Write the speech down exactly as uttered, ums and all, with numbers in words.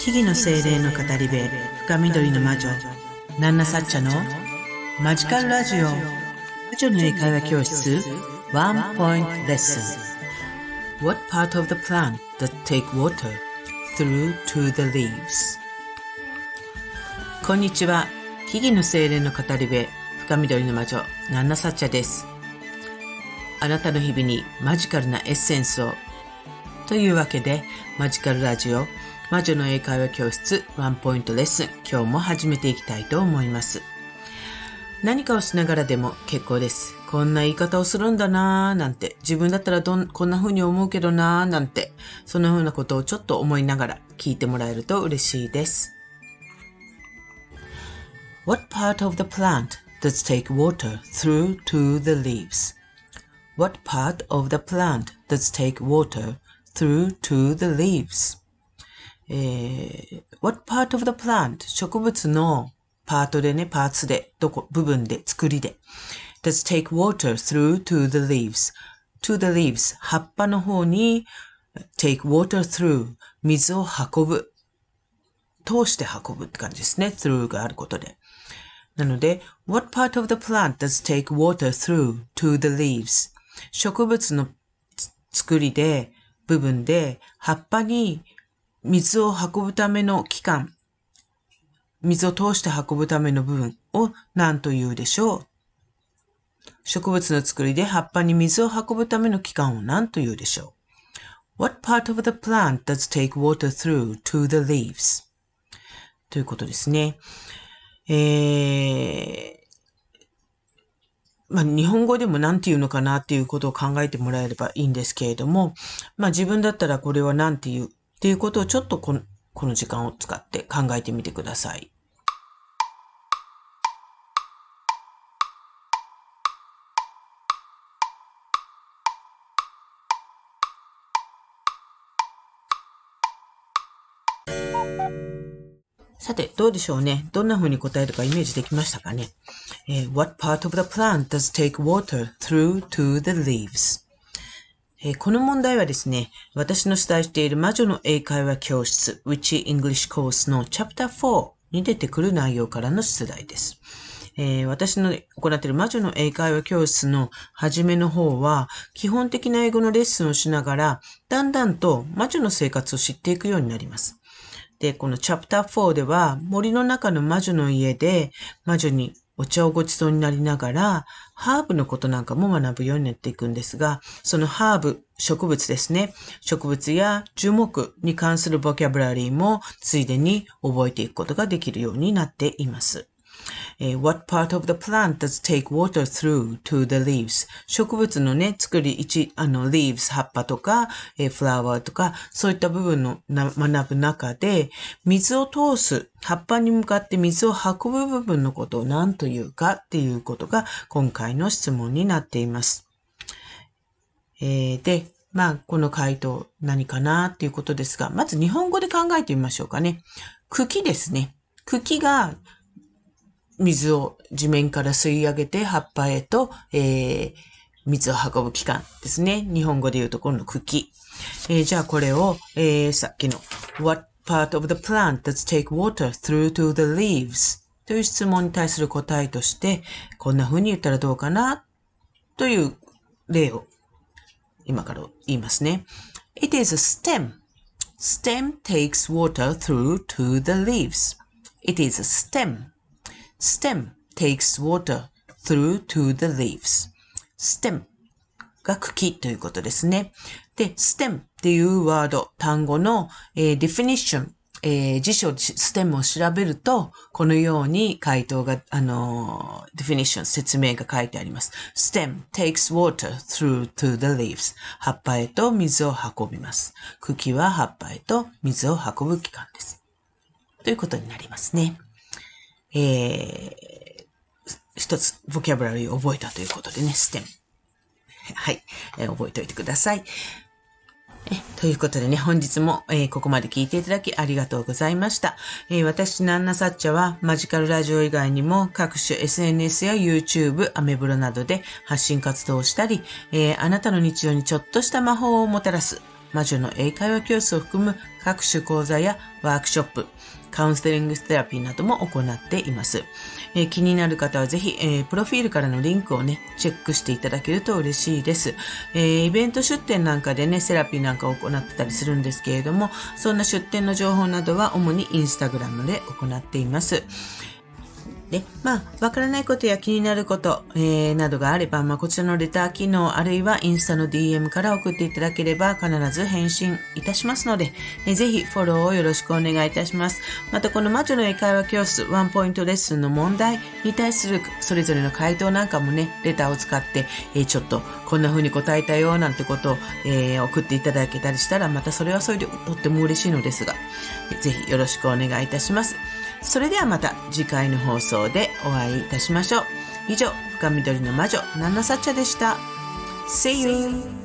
木々の精霊の語り部深緑の魔女ナンナサッチャのマジカルラジオ。魔女の英会話教室 One Point Lesson. What part of the plant does take water through to the leaves? こんにちは。木々の精霊の語り部深緑の魔女ナンナサッチャです。あなたの日々にマジカルなエッセンスをというわけで、マジカルラジオ魔女の英会話教室ワンポイントレッスン、今日も始めていきたいと思います。何かをしながらでも結構です。こんな言い方をするんだなーなんて、自分だったらどんこんな風に思うけどなーなんて、その風なことをちょっと思いながら聞いてもらえると嬉しいです。What part of the plant does take water through to the leaves? What part of the plant does take water through to the leaves?えー、what part of the plant? 植物のパートでね、パーツで、どこ、部分で、作りで。does take water through to the leaves. to the leaves. 葉っぱの方に take water through. 水を運ぶ。通して運ぶって感じですね。through があることで。なので、what part of the plant does take water through to the leaves? 植物の作りで、部分で、葉っぱに水を運ぶための器官、水を通して運ぶための部分を何と言うでしょう。植物の作りで葉っぱに水を運ぶための器官を何と言うでしょう。What part of the plant does take water through to the leaves? ということですね。えー、まあ、日本語でも何て言うのかなっていうことを考えてもらえればいいんですけれども、まあ自分だったらこれは何て言うっていうことをちょっとこの、この時間を使って考えてみてください。さて、どうでしょうね。どんな風に答えるかイメージできましたかね。えー、What part of the plant does take water through to the leaves?えー、この問題はですね、私の主催している魔女の英会話教室 Witchy English Course の チャプターフォー に出てくる内容からの出題です。えー、私の行っている魔女の英会話教室の初めの方は、基本的な英語のレッスンをしながら、だんだんと魔女の生活を知っていくようになります。で、このチャプターフォーでは、森の中の魔女の家で、魔女にお茶をごちそうになりながら、ハーブのことなんかも学ぶようになっていくんですが、そのハーブ、植物ですね。植物や樹木に関するボキャブラリーもついでに覚えていくことができるようになっています。えー、What part of the plant does take water through to the leaves? 植物のね、作り一、あの、leaves、葉っぱとか、えー、flower とか、そういった部分のな学ぶ中で、水を通す、葉っぱに向かって水を運ぶ部分のことを何というかっていうことが今回の質問になっています。えー、で、まあ、この回答何かなっていうことですが、まず日本語で考えてみましょうかね。茎ですね。茎が水を地面から吸い上げて葉っぱへと、えー、水を運ぶ器官ですね。日本語で言うところの茎。えー、じゃあこれを、えー、さっきの What part of the plant does take water through to the leaves? という質問に対する答えとして、こんな風に言ったらどうかなという例を今から言いますね。It is a stem. Stem takes water through to the leaves. It is a stem.stem takes water through to the leaves. stem が茎ということですね。で、stem っていうワード、単語の、えー、definition、えー、辞書 stem を調べると、このように回答が、あのー、definition、説明が書いてあります。stem takes water through to the leaves. 葉っぱへと水を運びます。茎は葉っぱへと水を運ぶ器官です。ということになりますね。えー、一つ、ボキャブラリーを覚えたということでね、ステム。はい、えー、覚えておいてください。えということでね、本日も、えー、ここまで聞いていただきありがとうございました。えー、私、ナンナサッチャは、マジカルラジオ以外にも、各種 エスエヌエス や YouTube、アメブロなどで発信活動をしたり、えー、あなたの日常にちょっとした魔法をもたらす、 魔女の英会話教室を含む各種講座やワークショップ、カウンセリングセラピーなども行っています。えー、気になる方はぜひ、えー、プロフィールからのリンクをね、チェックしていただけると嬉しいです。えー、イベント出店なんかでね、セラピーなんかを行ってたりするんですけれども、そんな出店の情報などは主にインスタグラムで行っています。で、まあ、わからないことや気になること、えー、などがあれば、まあ、こちらのレター機能、あるいはインスタの ディーエム から送っていただければ、必ず返信いたしますので、えー、ぜひフォローをよろしくお願いいたします。また、この魔女の英会話教室、ワンポイントレッスンの問題に対するそれぞれの回答なんかもね、レターを使って、えー、ちょっとこんな風に答えたよ、なんてことを、えー、送っていただけたりしたら、またそれはそれでとっても嬉しいのですが、ぜひよろしくお願いいたします。それではまた次回の放送でお会いいたしましょう。以上、深緑の魔女、ナンナサッチャでした。See you!